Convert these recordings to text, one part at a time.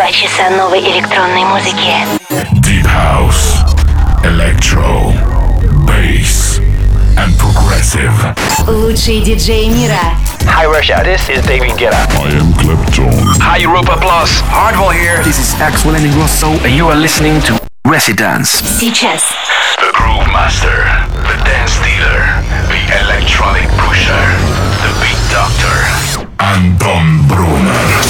2 часа новой электронной музыки. Deep House, Electro, Bass and Progressive. Лучшие диджеи мира. Hi Russia, this is David Guetta. I am Clapton. Hi Europa Plus, Hardwell here. This is Axel Ingrosso, and you are listening to Residence. Сейчас. The Groove Master, the Dance Dealer, the Electronic Pusher, the Beat Doctor, Антон Брунер.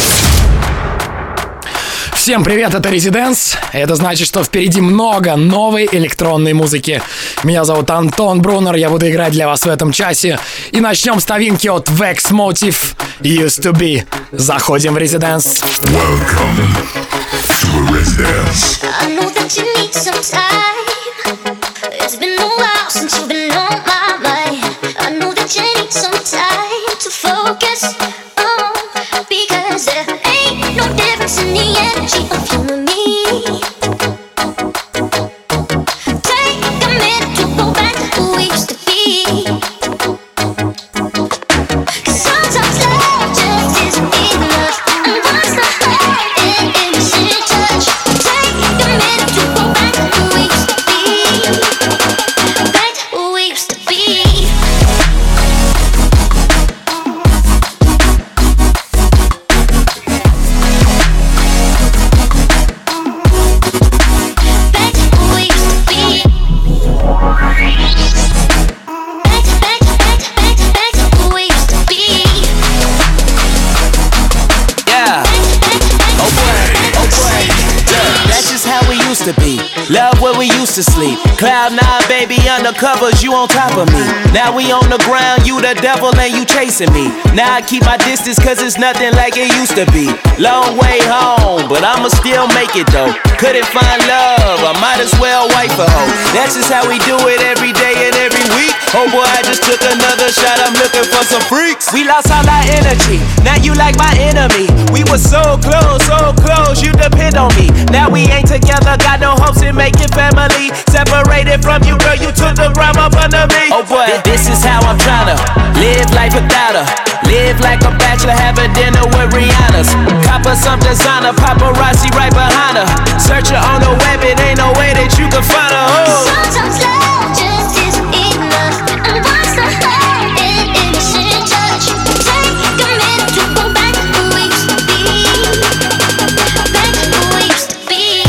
Всем привет, это Residence. Это значит, что впереди много новой электронной музыки. Меня зовут Антон Брунер, я буду играть для вас в этом часе. И начнем с новинки от Vex Motive, Used to Be. Заходим в Residence. Welcome to Residence. I know that you need some time. It's been a while since you've been on my mind. I know that you need some time to focus on, because there ain't no difference in the energy of you and me. Take a minute to go back to who we used to be. 'Cause sometimes love just isn't enough, and once the heart and innocent touch. Take a minute to go back to who we used to be. Back to who we used to be. Back to who we used to be. Back to who we used to be. Yeah. Oh boy. Yeah. That's just how we used to be. Love where we used to sleep. Cloud 9, baby, undercovers, you on top of me. Now we on the ground, you the devil and you chasing me. Now I keep my distance cause it's nothing like it used to be. Long way home, but I'ma still make it though. Couldn't find love, I might as well wife a hoe. That's just how we do it every day and every week. Oh boy, I just took another shot, I'm looking for some freaks. We lost all our energy, now you like my enemy. We were so close, you depend on me. Now we ain't together, got no hopes in making family. Separated from you, girl, you took the ground up under me. Oh boy, this is how I'm tryna live life without her. Live like a bachelor, have a dinner with Rihanna's. Cop her some designer, paparazzi right behind her. Search her on the web, it ain't no way that you can find her. Oh. Sometimes love just isn't enough, and once the heart and innocent touch. Take a minute to go back to who we used to be. Back to who we used to be.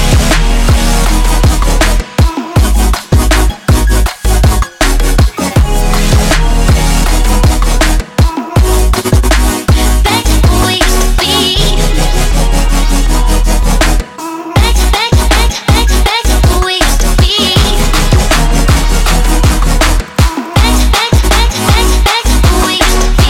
Back to who we used to be. Back to who we used to be. Back to who we used to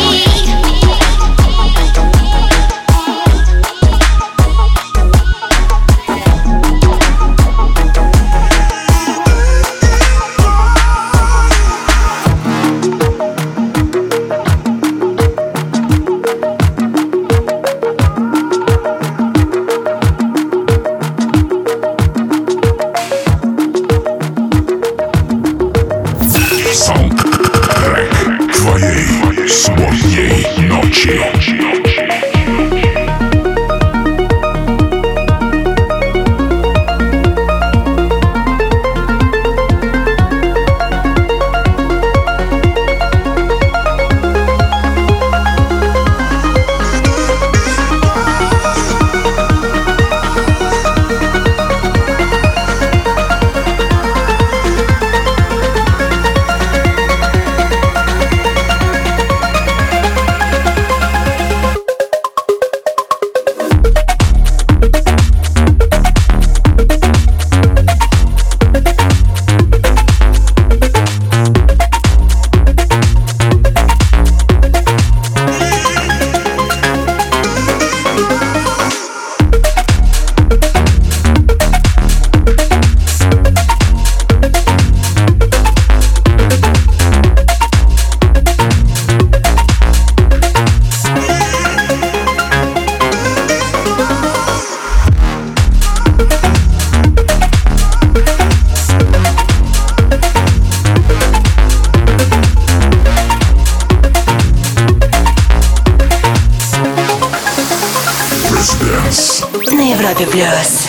Саундтрек твоей субботней ночи. Happy Blues.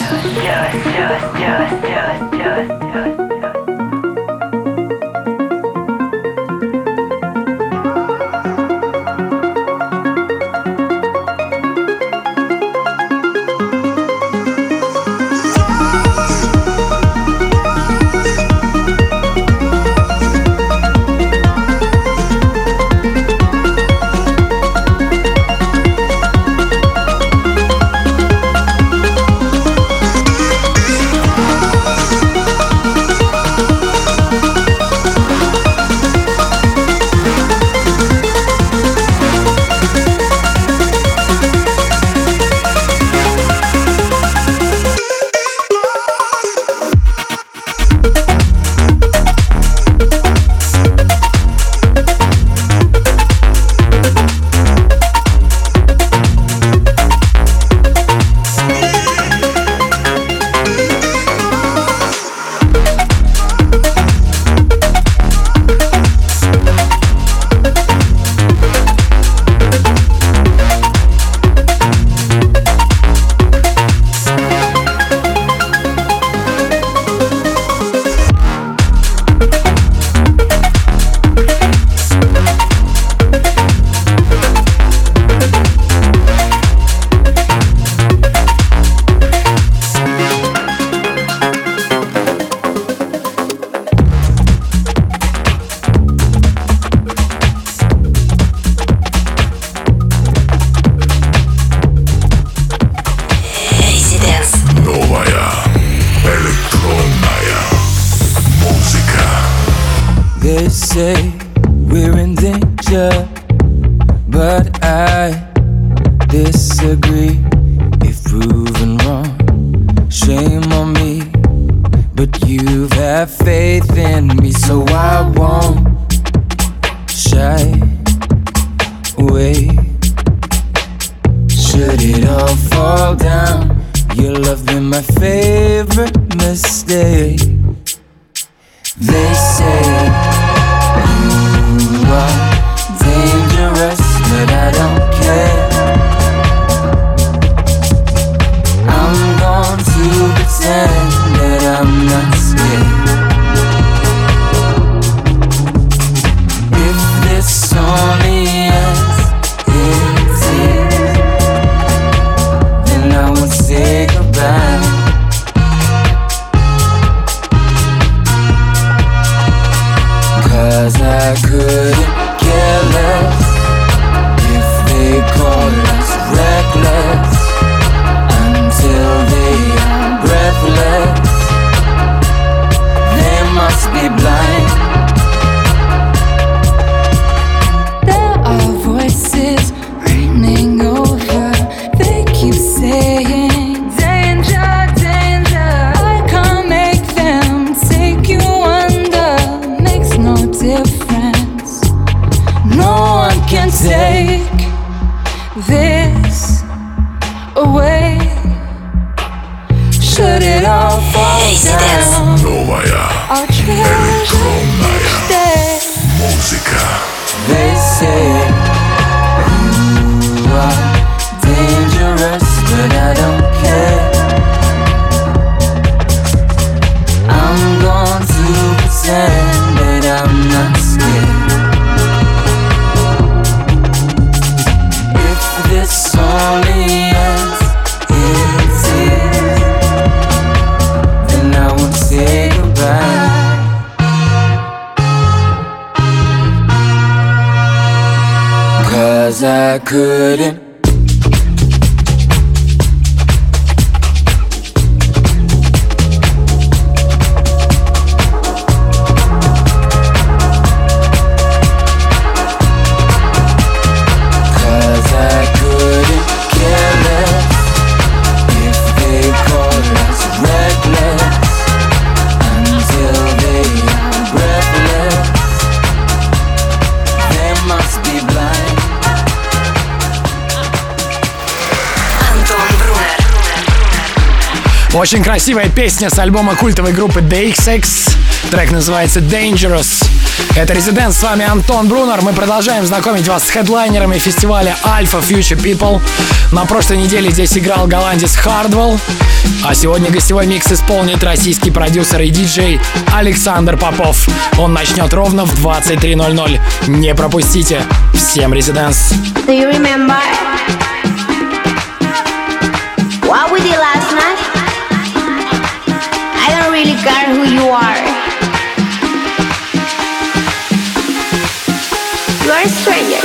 I couldn't. Очень красивая песня с альбома культовой группы DXX. Трек называется Dangerous. Это Residents, с вами Антон Брунер. Мы продолжаем знакомить вас с хедлайнерами фестиваля Alpha Future People. На прошлой неделе здесь играл голландец Hardwell. А сегодня гостевой микс исполнит российский продюсер и диджей Александр Попов. Он начнет ровно в 23:00. Не пропустите. Всем Residents. Do you remember what we did last night? I don't really care who you are. You are a stranger.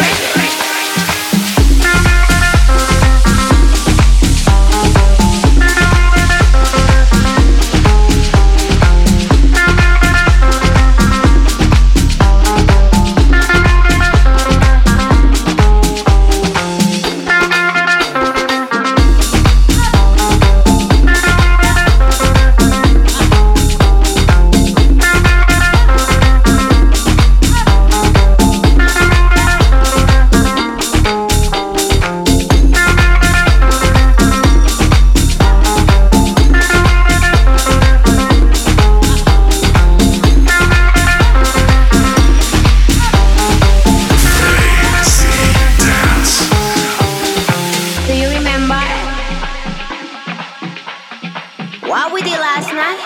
What we did last night?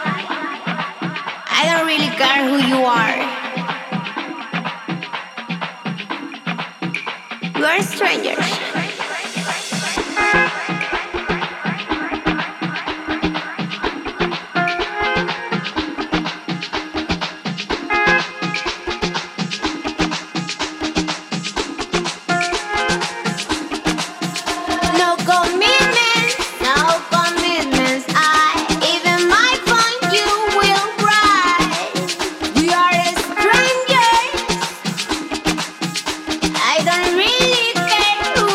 I don't really care who you are. You are strangers. I don't really care who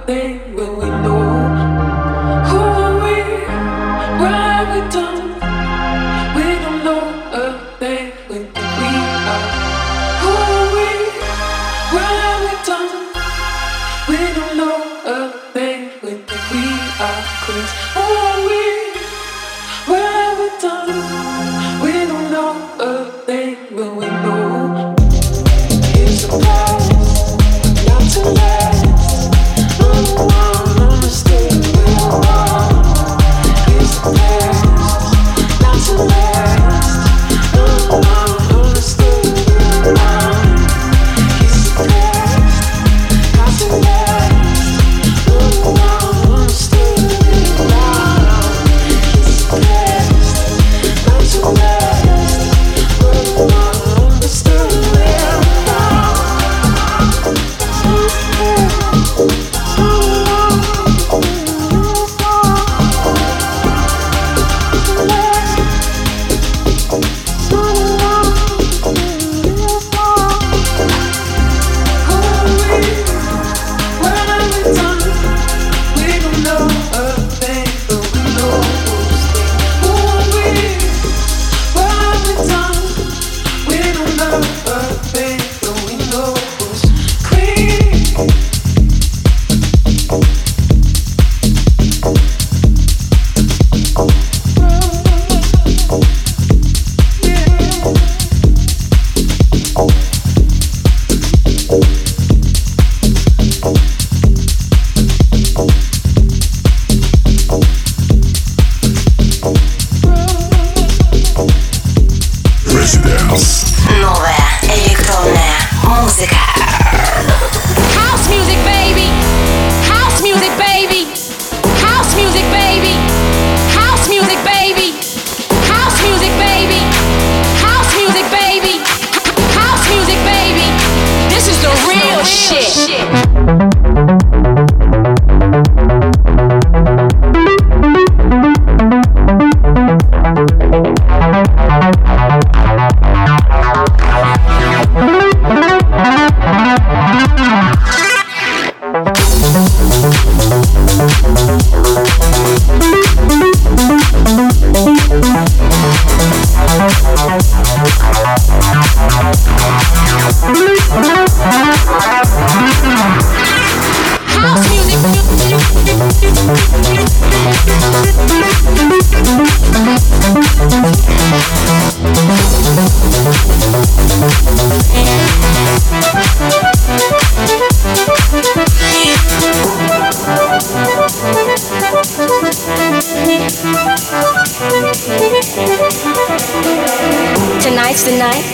Tonight's the night.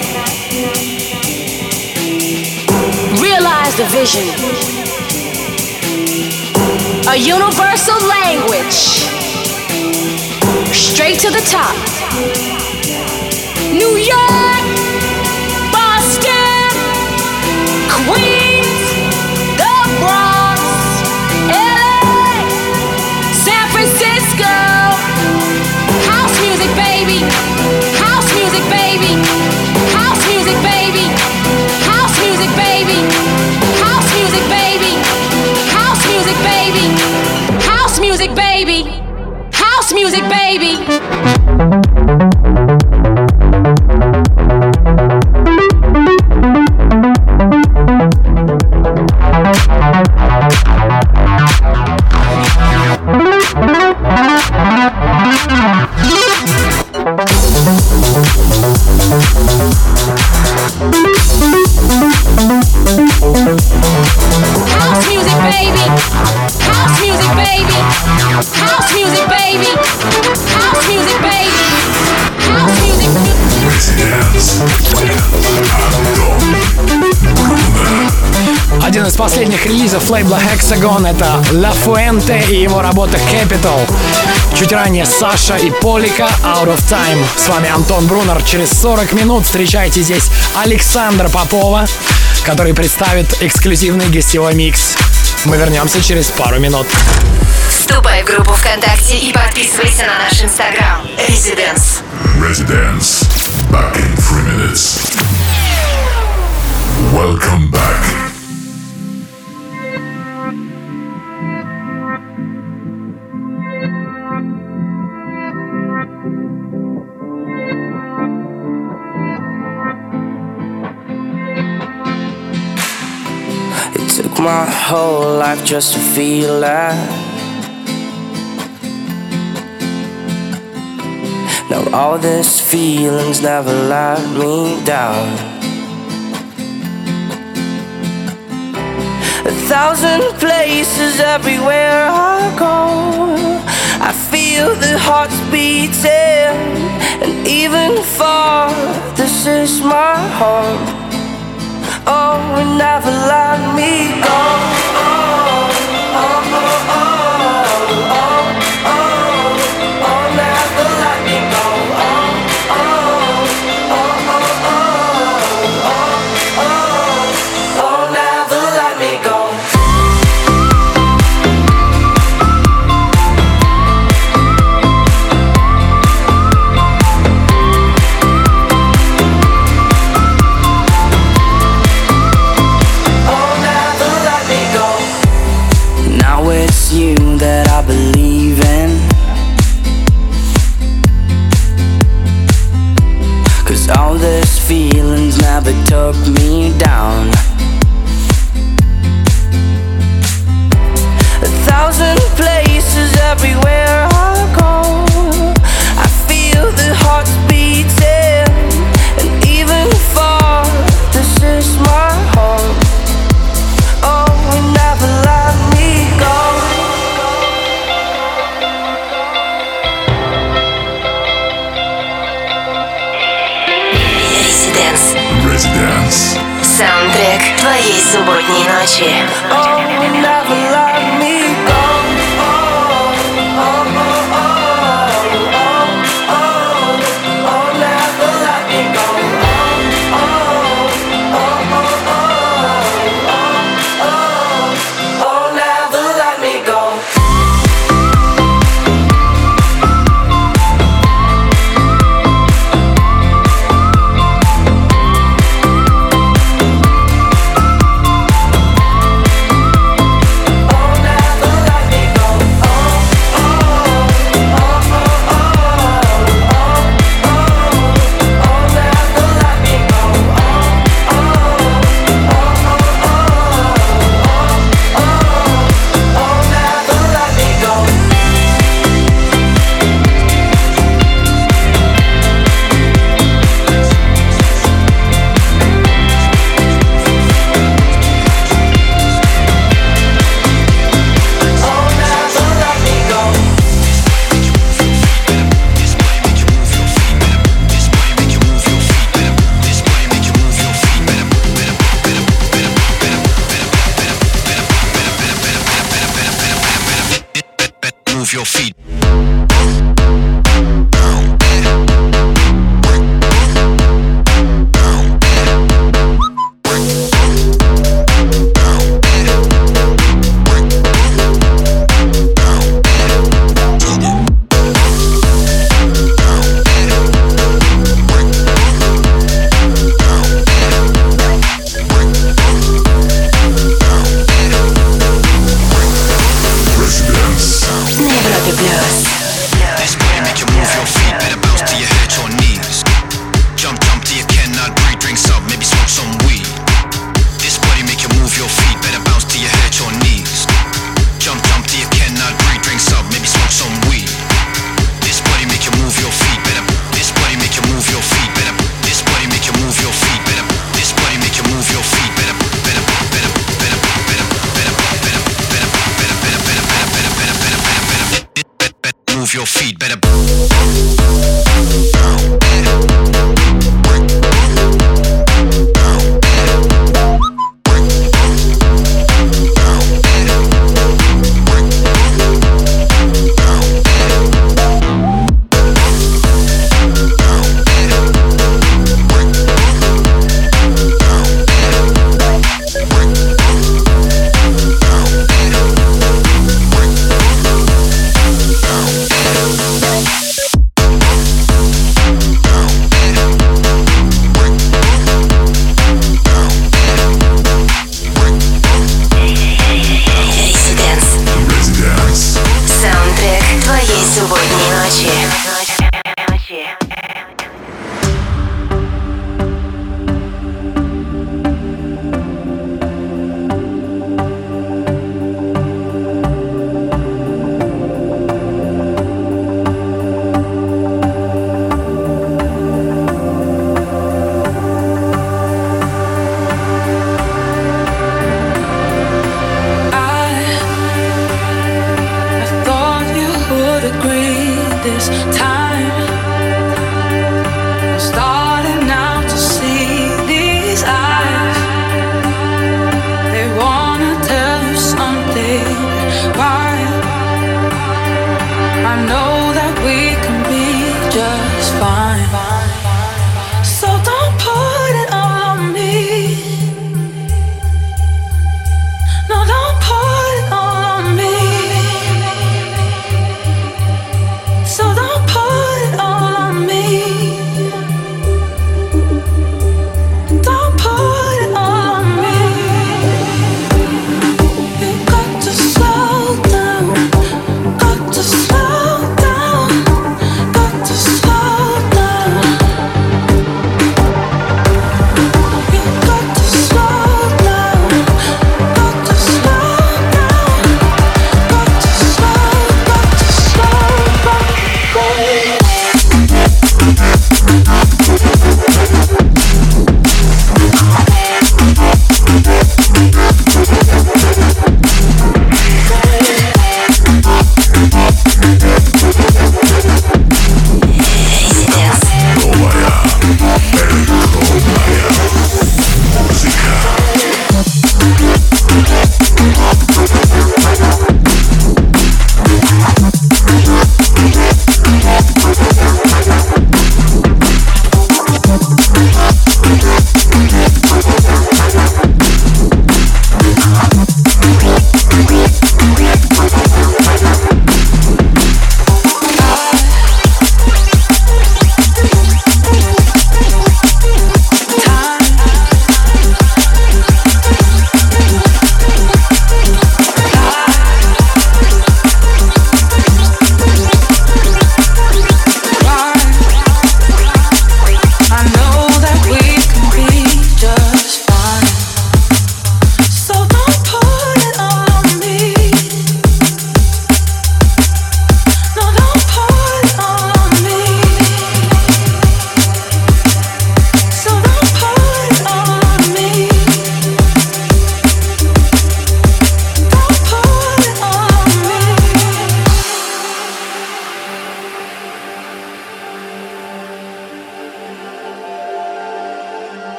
Realize the vision. A universal language. Straight to the top. New York, Boston, Queens, the Bronx, LA, San Francisco. House music, baby. House music, baby. House music, baby. House music, baby. House music, baby. House music, baby. House music, baby. House music, baby. House music, baby. House music, baby. House music, baby. House music, baby. House music. Один из последних релизов лейбла Hexagon — это La Fuente и его работа Capital. Чуть ранее Саша и Полика Out of Time. С вами Антон Брунер. Через 40 минут встречайте здесь Александра Попова, который представит эксклюзивный гостевой микс. Мы вернемся через пару минут. Вступай в группу ВКонтакте и подписывайся на наш Инстаграм. Residence. Residence. Back in 3 minutes. Welcome back. Took my whole life just to feel that. Now all these feelings never let me down. 1,000 places everywhere I go, I feel the hearts beating, and even far, this is my home. Oh, and never let me go. Oh, oh, oh, oh, oh, oh, oh, oh, never let me go. Oh, oh, oh, oh, oh, oh, oh, oh, never let me go. You that I believe in, 'cause all these feelings never took me down. 1,000 places everywhere I go, I feel the hearts beating, and even far, this is my home. Oh, we never let me go. Residence. Саундтрек твоей субботней ночи. Oh, never let me go. Oh, oh, oh, oh, oh, oh, oh, never let me go. Oh, oh, oh, oh, oh, oh, oh, never let me go. Move your feet. This body make you move your feet, better bounce to your head, your knees. Jump till you cannot breathe, drinks up, maybe smoke some weed. This body make you move your feet, better bounce to your head, your knees. Jump till you cannot breathe, drinks up, maybe smoke some weed. This body make you move your feet, better. This body make you move your feet, better. This body make you move your feet, better. This body make you move your feet, better. Better, better, better, better, better, better, better, better, better, better, better, better, better, better. Move your feet, better.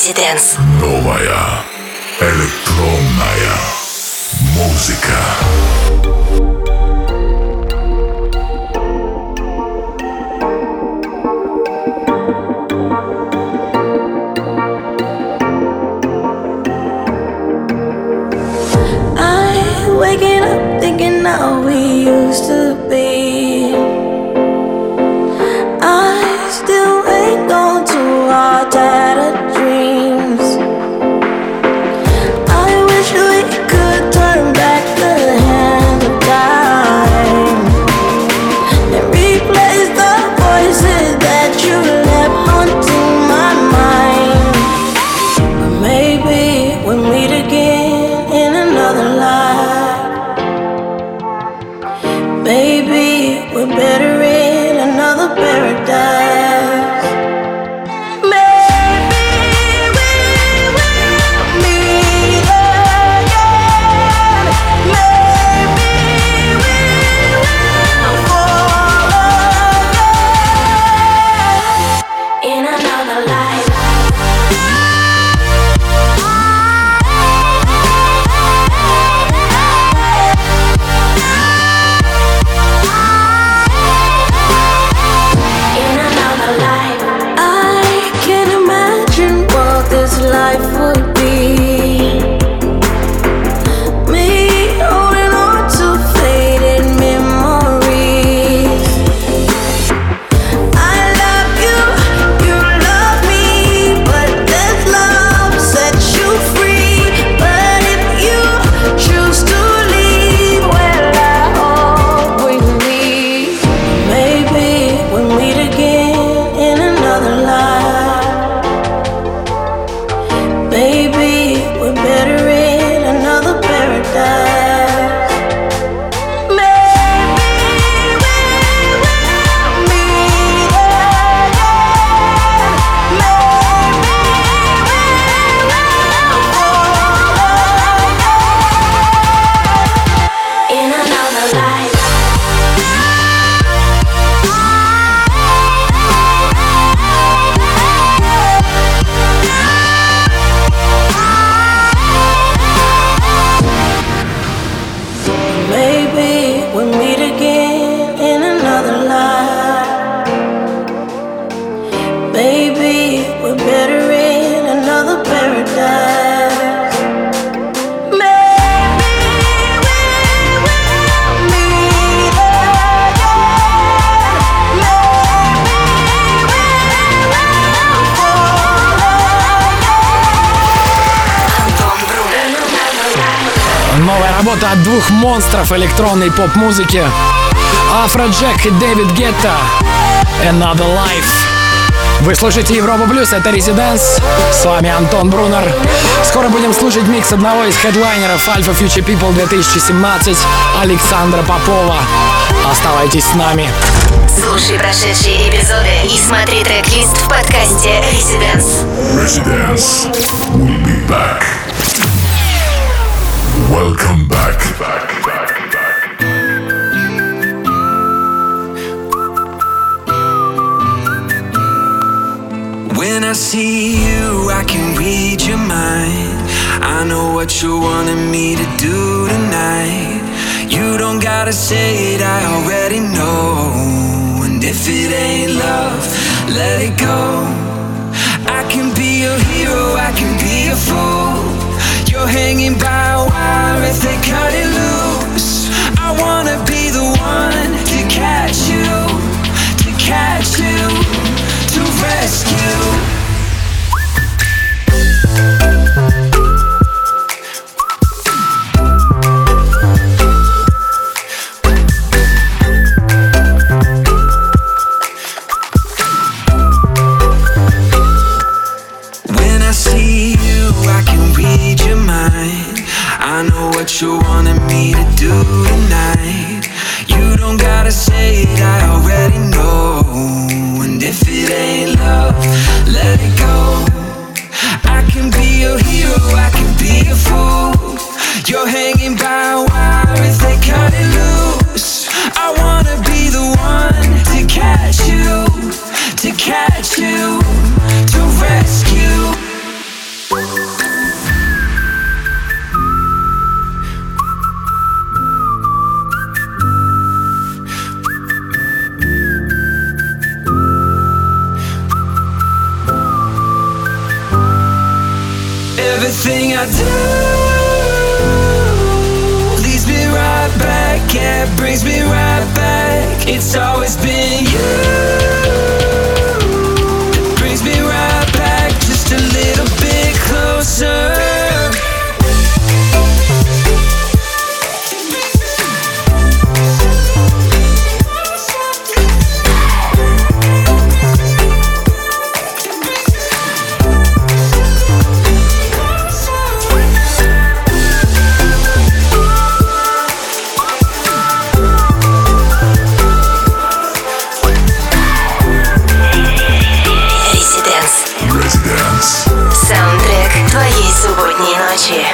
Residence. Новая электронная музыка. Waking up thinking how we used to be. I still ain't gone to our tattered dreams. I wish we could turn back the hand of time and replace the voices that you left haunting my mind. But maybe we'll meet again in another life. Maybe we're better in another paradise. Maybe we will meet again. Maybe we will fall again in another life. Life would be me holding on to faded memories. I love you, you love me, but this love sets you free. But if you choose to leave, well, I hope we leave. Maybe we'll meet again in another life. Maybe we're better in another paradise. Maybe we will meet again. Maybe we will fall again in another life. Maybe we'll meet again in another life. Maybe we're better in another paradise. Maybe we will meet again. Maybe we will fall again. Новая работа от двух монстров электронной поп-музыки Афроджек и Дэвид Гетта. Another Life. Вы слушаете Европу Плюс, это Residence. С вами Антон Брунер. Скоро будем слушать микс одного из хедлайнеров Alpha Future People 2017 Александра Попова. Оставайтесь с нами. Слушай прошедшие эпизоды и смотри трек-лист в подкасте Residence. Residence will be back. Welcome back. When I see you, I can read your mind. I know what you wanted me to do tonight. You don't gotta say it, I already know. And if it ain't love, let it go. I can be your hero, I can be a fool. You're hanging by a wire if they cut it loose. I wanna be the one to catch you, to rescue. When I see you, I can read your mind. I know what you wanted me to do tonight. You don't gotta say it, I already know. And if it ain't love, let it go. I can be your hero, I can be a fool. You're hanging by a wire if they cut it loose. I wanna be the one to catch you, to rescue. everything I do leads me right back, yeah, brings me right back. It's always been you that brings me right back, just a little bit closer. Саундтрек твоей субботней ночи.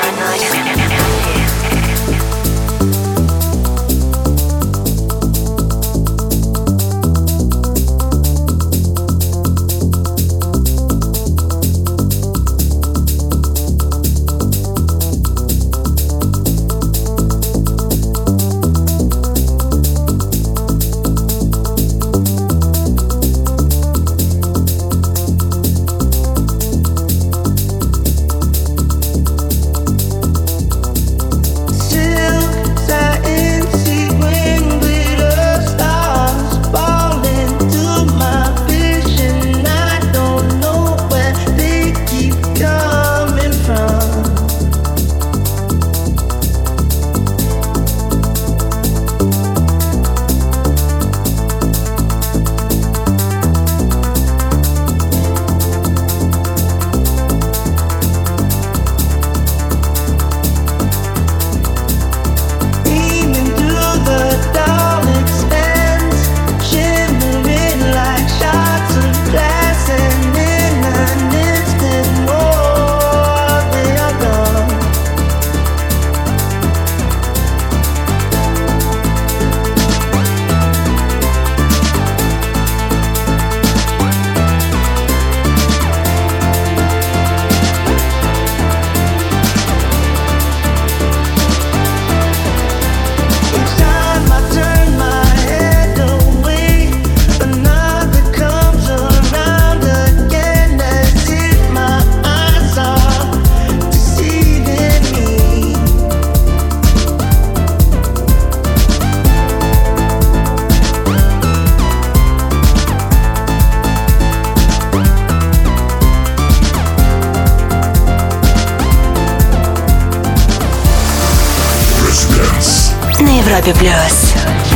На Европе Плюс.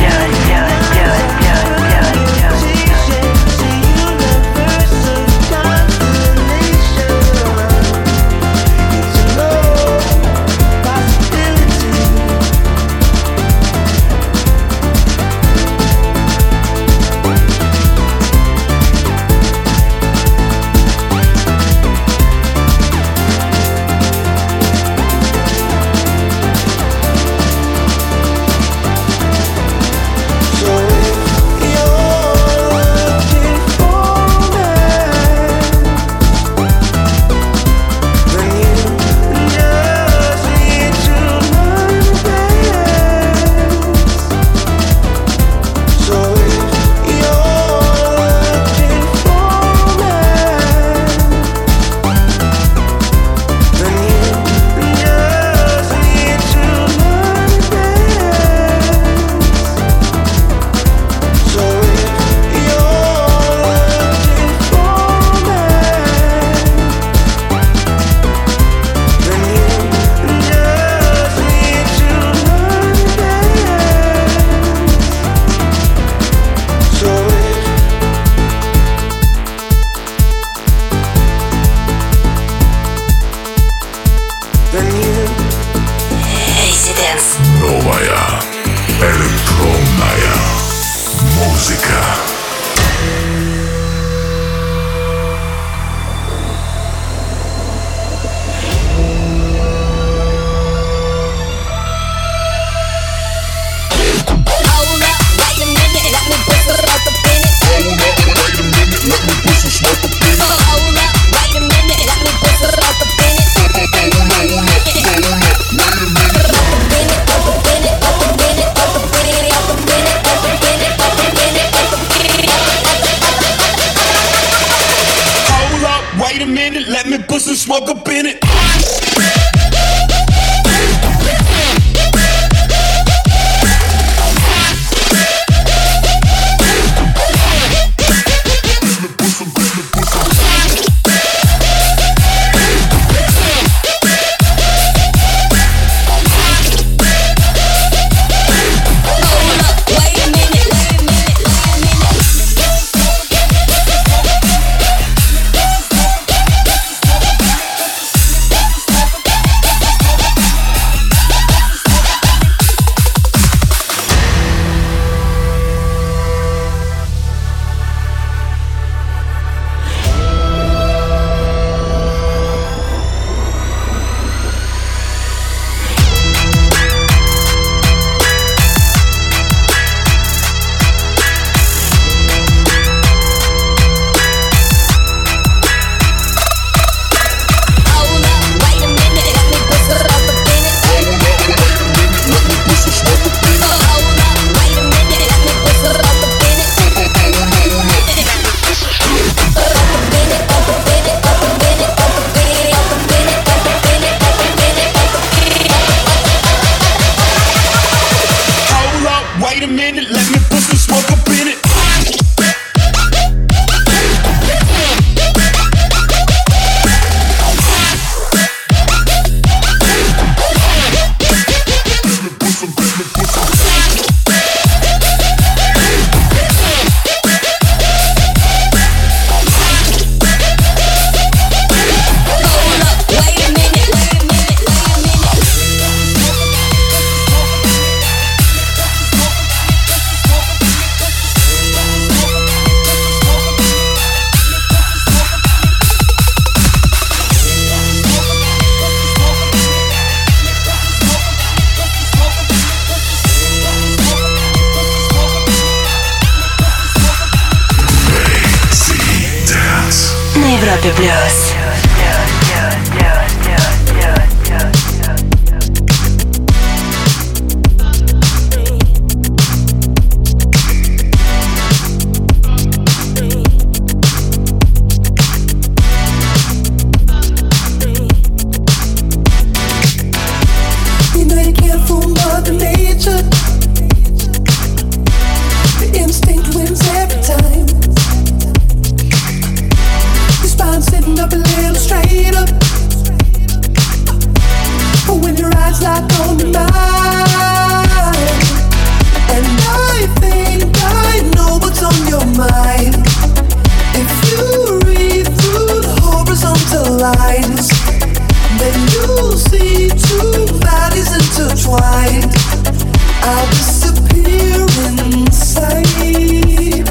Новая электронная музыка. Wait a minute, let me put some smoke up in it. Европе плюс. Sitting up a little straighter. When your eyes lock on mine, and I think I know what's on your mind. If you read through the horizontal lines, then you'll see two bodies intertwined. I'll disappear inside.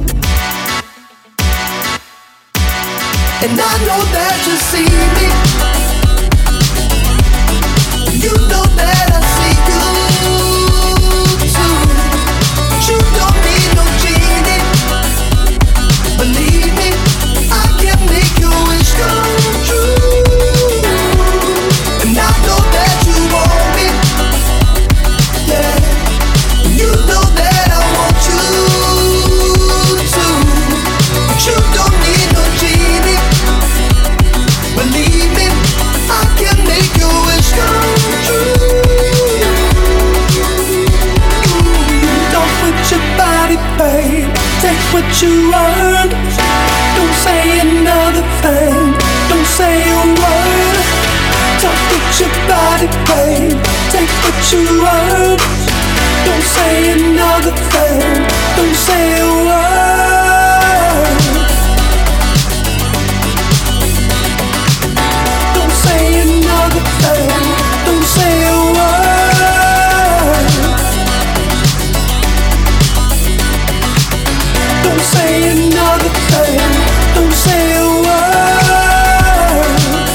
And I know that you see me. You know that I see you too. But you don't need no genie. Believe me, I can make your wish come true. And I know that you want me. Yeah. You know that I want you too. But you don't need no genie. Believe me, I can make your wish come true. Don't put your body, babe. Take what you earn. Don't say another thing. Don't say a word. Don't put your body, babe. Take what you earn. Don't say another thing. Don't say a word. Don't say another thing. Don't say a word. Don't say another thing. Don't say a word.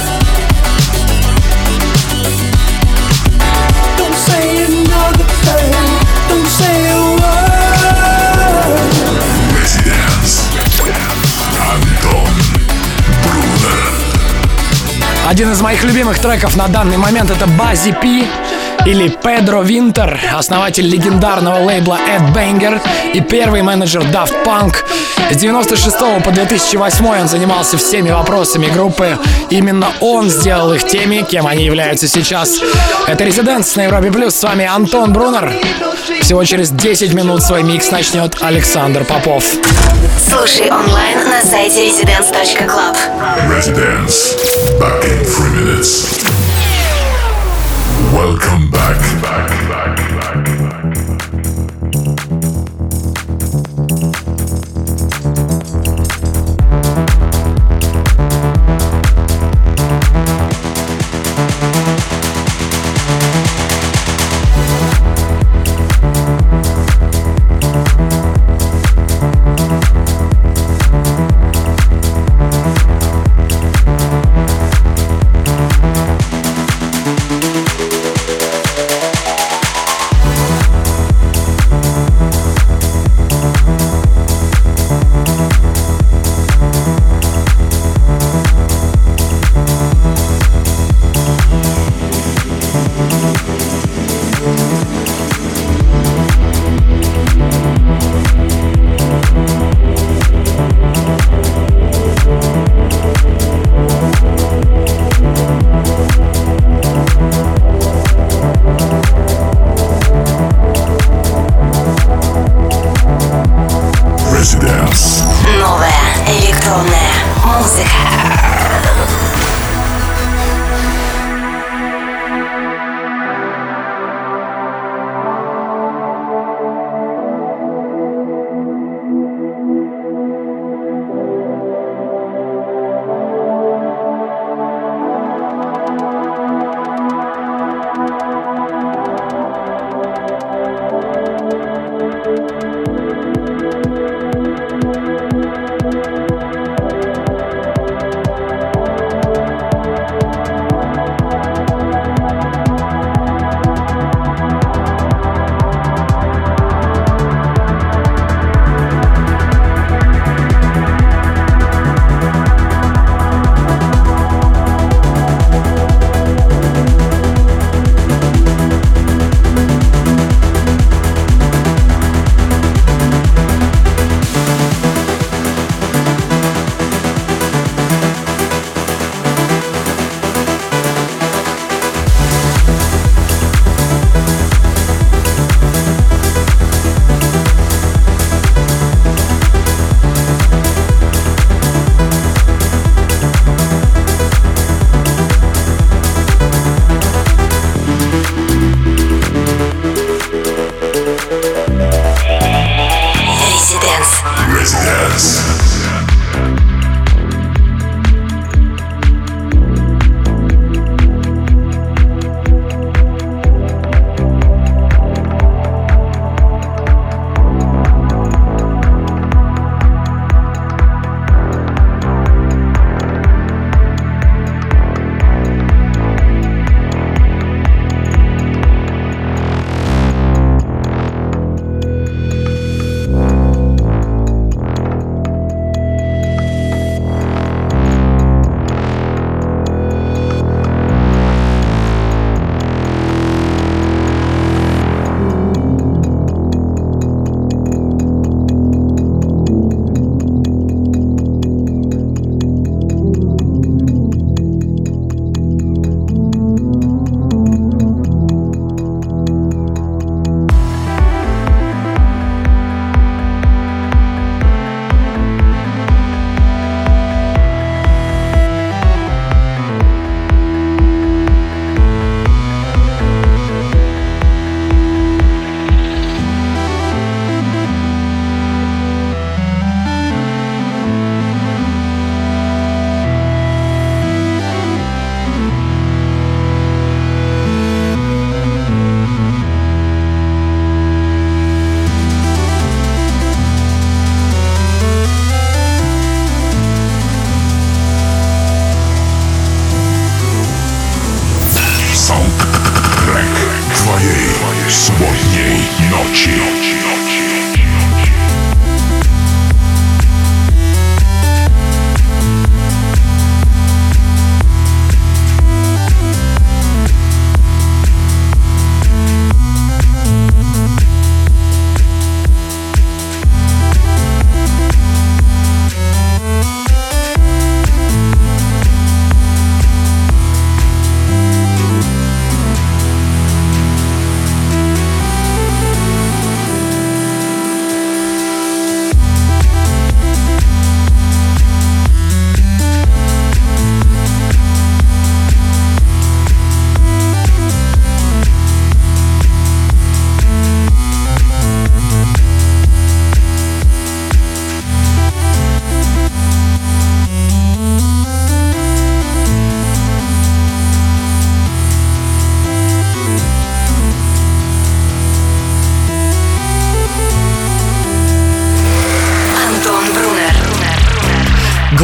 Don't say another thing. Don't say a word. Residence. Антон Брунер. Один из моих любимых треков на данный момент — это Баззи Пи или Педро Винтер, основатель легендарного лейбла Ed Banger и первый менеджер Daft Punk. С 96 по 2008 он занимался всеми вопросами группы. Именно он сделал их теми, кем они являются сейчас. Это Residence на Европе Плюс. С вами Антон Брунер. Всего через 10 минут свой микс начнет Александр Попов. Слушай онлайн на сайте residence.club. Residence. Back in 3 minutes. Welcome back.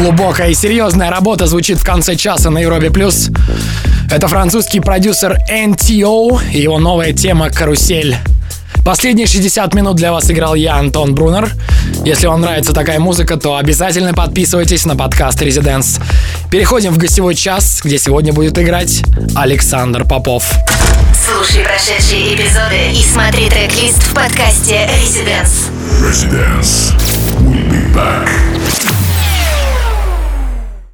Глубокая и серьезная работа звучит в конце часа на Европе+. Это французский продюсер NTO и его новая тема «Карусель». Последние 60 минут для вас играл я, Антон Брунер. Если вам нравится такая музыка, то обязательно подписывайтесь на подкаст Residence. Переходим в гостевой час, где сегодня будет играть Александр Попов. Слушай прошедшие эпизоды и смотри трек-лист в подкасте Residence. Residence. We'll be back.